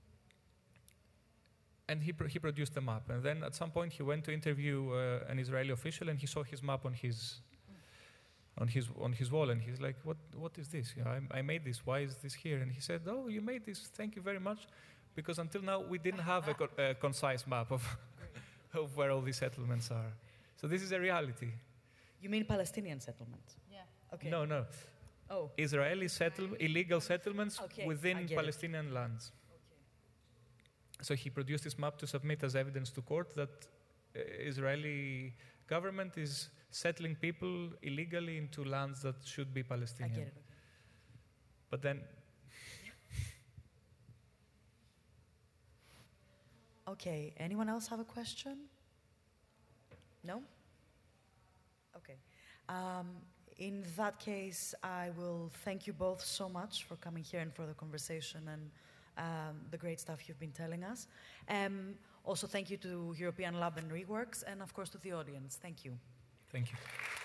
and he, pr he produced a map. And then at some point he went to interview uh, an Israeli official, and he saw his map on his, on his, on his wall, and he's like, what, what is this? You know, I, I made this, why is this here? And he said, oh, you made this, thank you very much. Because until now, we didn't have a, co a concise map of, of where all these settlements are. So this is a reality. You mean Palestinian settlements? Yeah. Okay. No, no. Oh. Israeli settle illegal settlements okay. within Palestinian it. lands. Okay. So he produced this map to submit as evidence to court that uh, Israeli government is settling people illegally into lands that should be Palestinian. I get it. Okay. But then. Okay, anyone else have a question? No? Okay. Um, in that case, I will thank you both so much for coming here and for the conversation and um, the great stuff you've been telling us. Um, also, thank you to European Lab and Reworks, and of course to the audience. Thank you. Thank you.